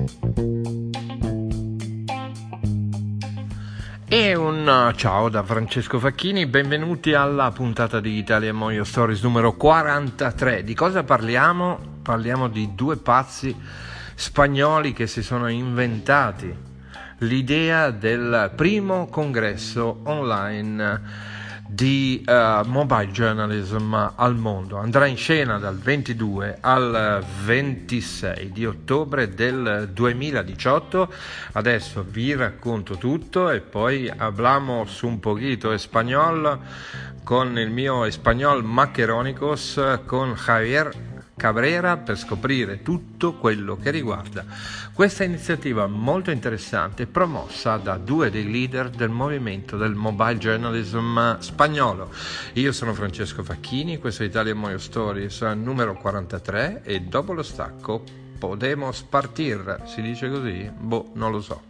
E un ciao da Francesco Facchini, benvenuti alla puntata di Italia Moio Stories numero 43. Di cosa parliamo? Parliamo di due pazzi spagnoli che si sono inventati l'idea del primo congresso online di mobile journalism al mondo. Andrà in scena dal 22 al 26 di ottobre del 2018. Adesso vi racconto tutto e poi hablamos un poquito español con il mio español maccheronicos con Javier Cabrera per scoprire tutto quello che riguarda questa iniziativa molto interessante promossa da due dei leader del movimento del mobile journalism spagnolo. Io sono Francesco Facchini, questo è Italia Moio Stories numero 43 e dopo lo stacco podemos partir, si dice così? Boh, non lo so.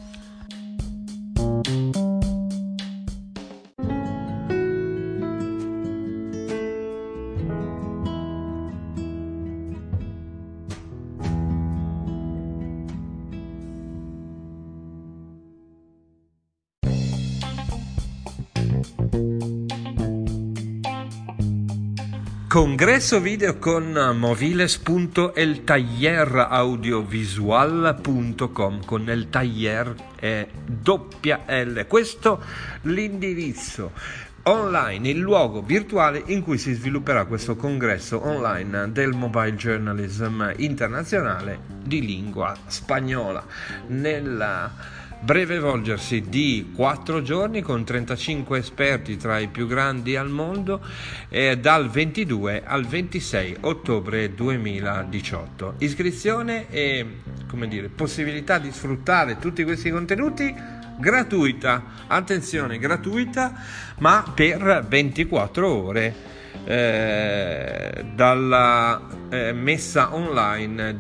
Congresso video con moviles.eltalleraudiovisual.com con el taller è doppia L. Questo l'indirizzo online, il luogo virtuale in cui si svilupperà questo congresso online del mobile journalism internazionale di lingua spagnola nella breve volgersi di 4 giorni con 35 esperti tra i più grandi al mondo dal 22 al 26 ottobre 2018. Iscrizione e possibilità di sfruttare tutti questi contenuti gratuita, attenzione, gratuita, ma per 24 ore dalla messa online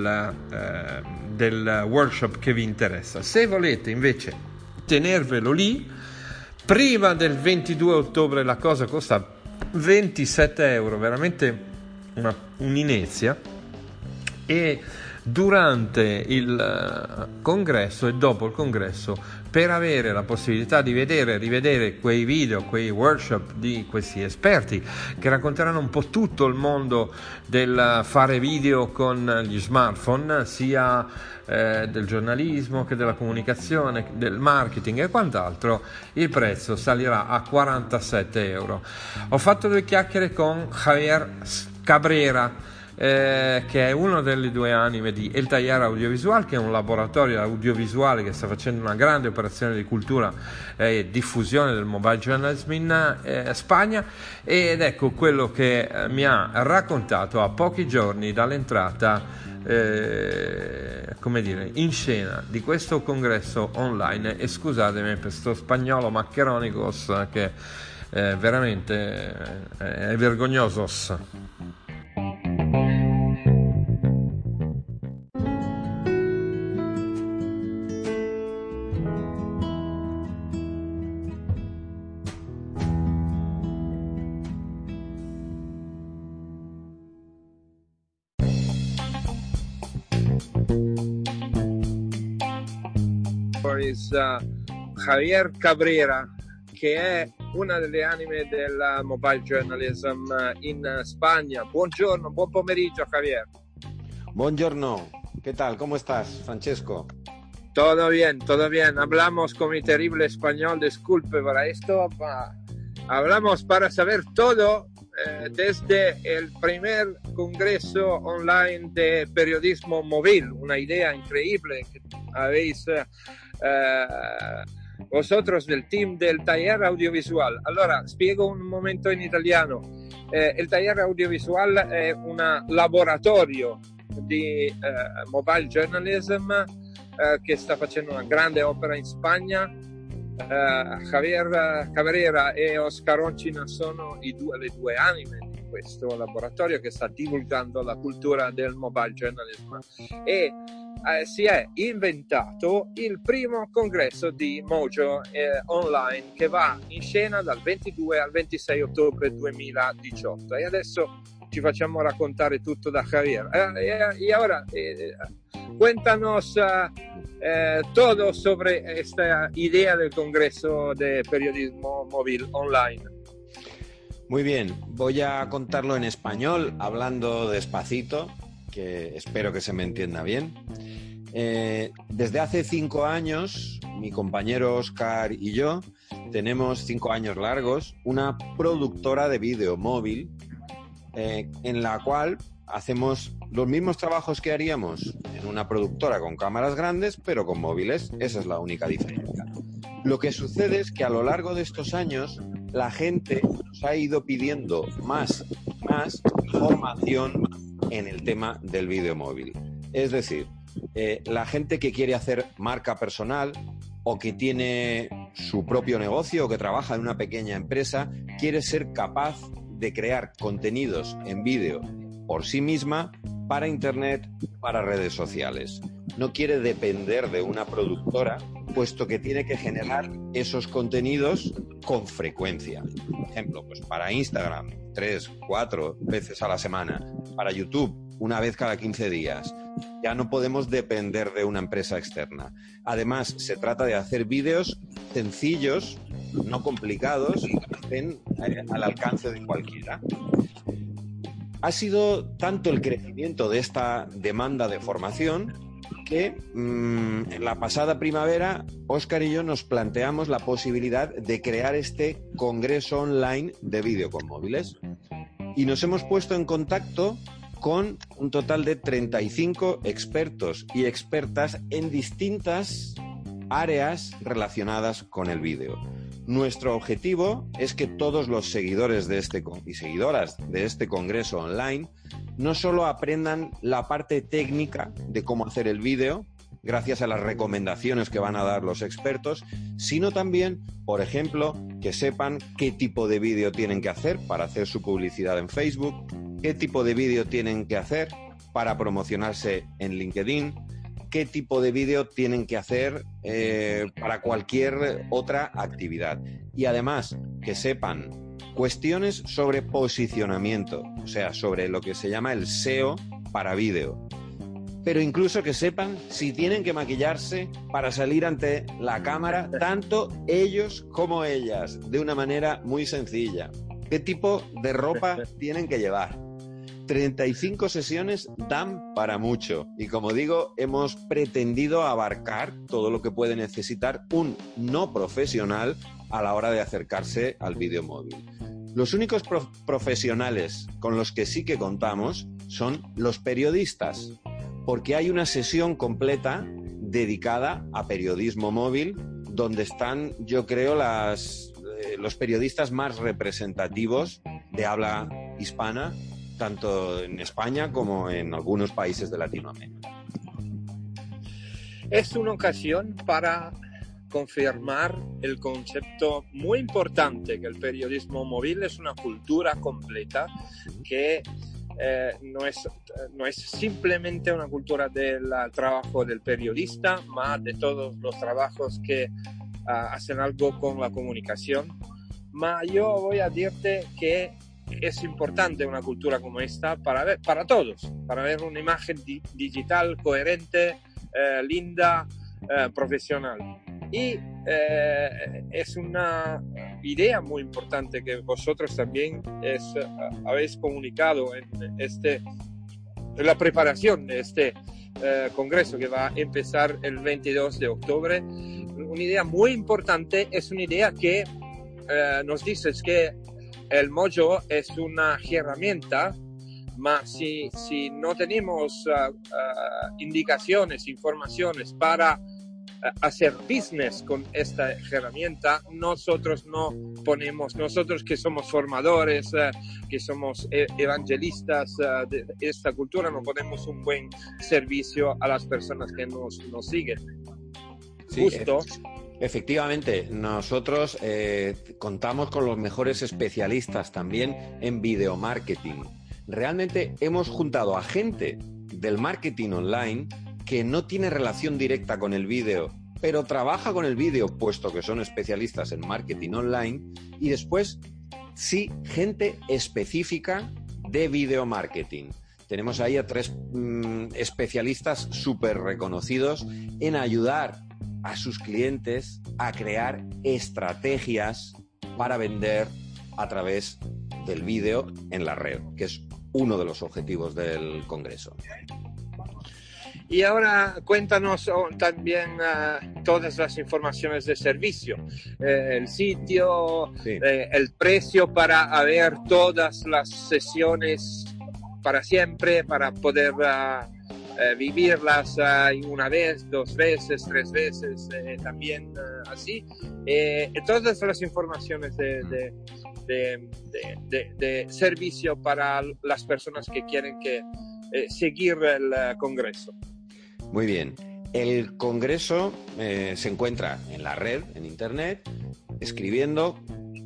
del workshop che vi interessa. Se volete invece tenervelo lì, prima del 22 ottobre la cosa costa 27 euro, veramente un'inezia, e durante il congresso e dopo il congresso, per avere la possibilità di vedere e rivedere quei video, quei workshop di questi esperti che racconteranno un po' tutto il mondo del fare video con gli smartphone, sia del giornalismo che della comunicazione, del marketing e quant'altro, il prezzo salirà a 47 euro. Ho fatto due chiacchiere con Javier Cabrera, che è uno delle due anime di El Taller Audiovisual, che è un laboratorio audiovisuale che sta facendo una grande operazione di cultura e diffusione del mobile journalism in Spagna, ed ecco quello che mi ha raccontato a pochi giorni dall'entrata in scena di questo congresso online. E scusatemi per sto spagnolo maccheronicos che veramente è vergognosos. Javier Cabrera, che è una delle anime del mobile journalism in Spagna. Buongiorno, buon pomeriggio Javier. Buongiorno, ¿qué tal? ¿Cómo estás, Francesco? Todo bien. Hablamos con mi terrible español, disculpe para esto, hablamos para saber todo desde el primer congreso online de periodismo móvil, una idea increíble que habéis vosotros del team del Taller Audiovisual. Allora, spiego un momento in italiano. Il Taller Audiovisual è un laboratorio di mobile journalism che sta facendo una grande opera in Spagna. Javier Cabrera e Oscar Oncina sono le due anime di questo laboratorio che sta divulgando la cultura del mobile journalism, e si è inventato il primo congresso di Mojo online che va in scena dal 22 al 26 ottobre 2018. E adesso ci facciamo raccontare tutto da Javier. Y ahora, Cuéntanos todo sobre esta idea del Congreso de Periodismo Móvil Online. Muy bien, voy a contarlo en español, hablando despacito, que espero que se me entienda bien. Desde hace 5 años, mi compañero Óscar y yo tenemos 5 años largos, una productora de vídeo móvil en la cual hacemos los mismos trabajos que haríamos en una productora con cámaras grandes, pero con móviles. Esa es la única diferencia. Lo que sucede es que a lo largo de estos años la gente nos ha ido pidiendo más información en el tema del vídeo móvil. Es decir, la gente que quiere hacer marca personal o que tiene su propio negocio o que trabaja en una pequeña empresa, quiere ser capaz de crear contenidos en vídeo por sí misma para Internet, para redes sociales. No quiere depender de una productora, puesto que tiene que generar esos contenidos con frecuencia. Por ejemplo, pues para Instagram, 3, 4 veces a la semana. Para YouTube, una vez cada 15 días. Ya no podemos depender de una empresa externa. Además, se trata de hacer vídeos sencillos, no complicados, que estén al alcance de cualquiera. Ha sido tanto el crecimiento de esta demanda de formación que en la pasada primavera Óscar y yo nos planteamos la posibilidad de crear este congreso online de vídeo con móviles y nos hemos puesto en contacto con un total de 35 expertos y expertas en distintas áreas relacionadas con el vídeo. Nuestro objetivo es que todos los seguidores de y seguidoras de este congreso online no solo aprendan la parte técnica de cómo hacer el vídeo, gracias a las recomendaciones que van a dar los expertos, sino también, por ejemplo, que sepan qué tipo de vídeo tienen que hacer para hacer su publicidad en Facebook, qué tipo de vídeo tienen que hacer para promocionarse en LinkedIn, qué tipo de vídeo tienen que hacer para cualquier otra actividad. Y además, que sepan cuestiones sobre posicionamiento, o sea, sobre lo que se llama el SEO para vídeo. Pero incluso que sepan si tienen que maquillarse para salir ante la cámara, tanto ellos como ellas, de una manera muy sencilla. ¿Qué tipo de ropa tienen que llevar? 35 sesiones dan para mucho y, como digo, hemos pretendido abarcar todo lo que puede necesitar un no profesional a la hora de acercarse al vídeo móvil. Los únicos profesionales con los que sí que contamos son los periodistas, porque hay una sesión completa dedicada a periodismo móvil donde están, yo creo, los periodistas más representativos de habla hispana, tanto en España como en algunos países de Latinoamérica. Es una ocasión para confirmar el concepto muy importante que el periodismo móvil es una cultura completa que no es simplemente una cultura del trabajo del periodista, más de todos los trabajos que hacen algo con la comunicación. Yo voy a decirte que es importante una cultura como esta para todos, para ver una imagen digital coherente, linda, profesional. Y es una idea muy importante que vosotros también habéis comunicado en la preparación de este congreso que va a empezar el 22 de octubre. Una idea muy importante es una idea que nos dice que el Mojo es una herramienta, mas si no tenemos indicaciones, informaciones para hacer business con esta herramienta, nosotros que somos formadores, que somos evangelistas de esta cultura, no ponemos un buen servicio a las personas que nos siguen. Sí, justo. Efectivamente, nosotros contamos con los mejores especialistas también en video marketing. Realmente hemos juntado a gente del marketing online que no tiene relación directa con el vídeo, pero trabaja con el vídeo, puesto que son especialistas en marketing online, y después, sí, gente específica de video marketing. tenemos ahí a 3 especialistas súper reconocidos en ayudar a sus clientes a crear estrategias para vender a través del vídeo en la red, que es uno de los objetivos del Congreso. Y ahora cuéntanos también todas las informaciones de servicio, el sitio, sí, el precio para ver todas las sesiones para siempre, para poder vivirlas una vez, 2 veces, 3 veces, también así. Todas las informaciones de servicio para las personas que quieren seguir el Congreso. Muy bien. El Congreso se encuentra en la red, en internet, escribiendo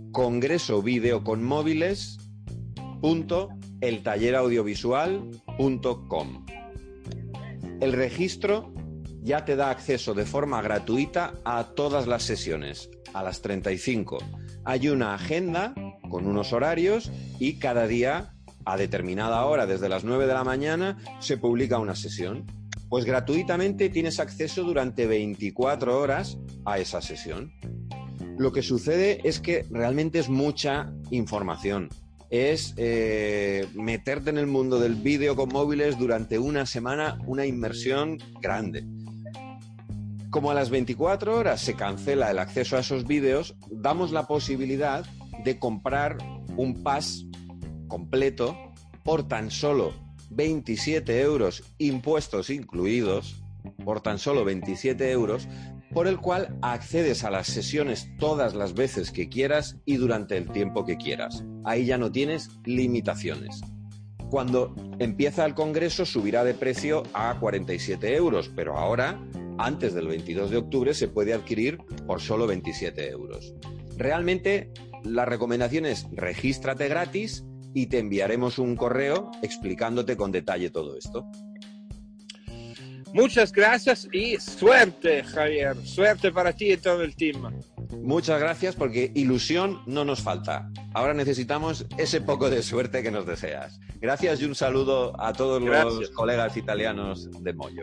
congresovideoconmóviles.eltalleraudiovisual.com. El registro ya te da acceso de forma gratuita a todas las sesiones, a las 35. Hay una agenda con unos horarios y cada día, a determinada hora, desde las 9 de la mañana, se publica una sesión. Pues gratuitamente tienes acceso durante 24 horas a esa sesión. Lo que sucede es que realmente es mucha información. Es meterte en el mundo del vídeo con móviles durante una semana, una inmersión grande. Como a las 24 horas se cancela el acceso a esos vídeos, damos la posibilidad de comprar un pass completo por tan solo 27 euros, impuestos incluidos, por tan solo 27 euros, por el cual accedes a las sesiones todas las veces que quieras y durante el tiempo que quieras. Ahí ya no tienes limitaciones. Cuando empieza el Congreso subirá de precio a 47 euros, pero ahora, antes del 22 de octubre, se puede adquirir por solo 27 euros. Realmente, la recomendación es regístrate gratis y te enviaremos un correo explicándote con detalle todo esto. Muchas gracias y suerte, Javier. Suerte para ti y todo el team. Muchas gracias, porque ilusión no nos falta. Ahora necesitamos ese poco de suerte que nos deseas. Gracias y un saludo a todos los colegas italianos de Moyo.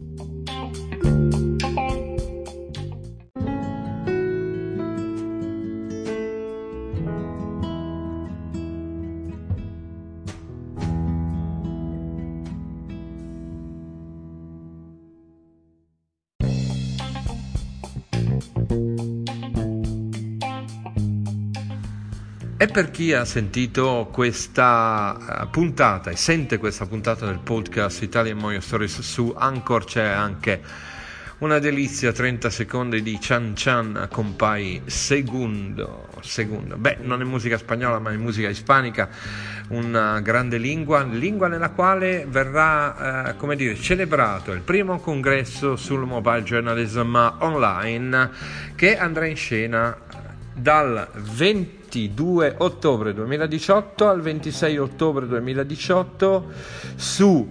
E per chi ha sentito questa puntata e sente questa puntata del podcast Italian Moyo Stories su Anchor, c'è anche una delizia, 30 secondi di Chan Chan con Pai Segundo. Beh, non è musica spagnola ma è musica ispanica, una grande lingua nella quale verrà celebrato il primo congresso sul mobile journalism online, che andrà in scena dal 22 ottobre 2018 al 26 ottobre 2018 su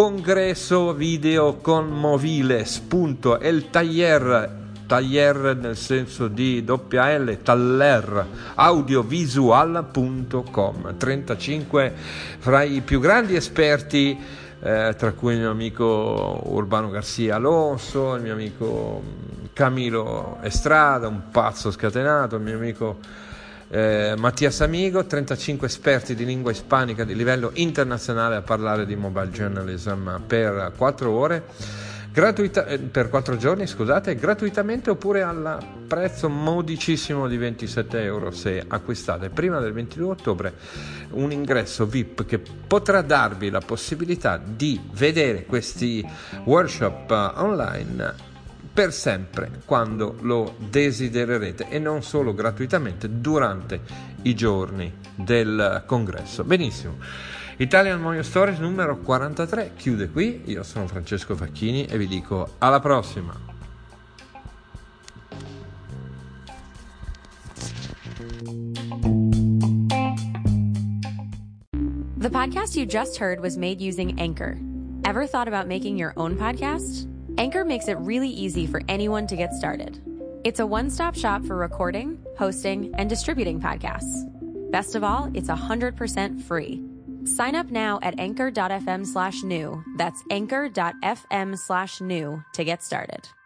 congresovideoconmoviles.eltaller nel senso di taller audiovisual.com. 35 fra i più grandi esperti, tra cui il mio amico Urbano Garcia Alonso, il mio amico Camilo Estrada, un pazzo scatenato, il mio amico Mattias Amigo, 35 esperti di lingua ispanica di livello internazionale a parlare di mobile journalism per 4 ore, per 4 giorni, gratuitamente, oppure al prezzo modicissimo di 27 euro se acquistate prima del 22 ottobre un ingresso VIP che potrà darvi la possibilità di vedere questi workshop online per sempre quando lo desidererete, e non solo gratuitamente durante i giorni del congresso. Benissimo, Italian Moyo Stories numero 43 chiude qui. Io sono Francesco Facchini e vi dico alla prossima. The podcast you just heard was made using Anchor. Ever thought about making your own podcast? Anchor makes it really easy for anyone to get started. It's a one-stop shop for recording, hosting, and distributing podcasts. Best of all, it's 100% free. Sign up now at anchor.fm/new. That's anchor.fm/new to get started.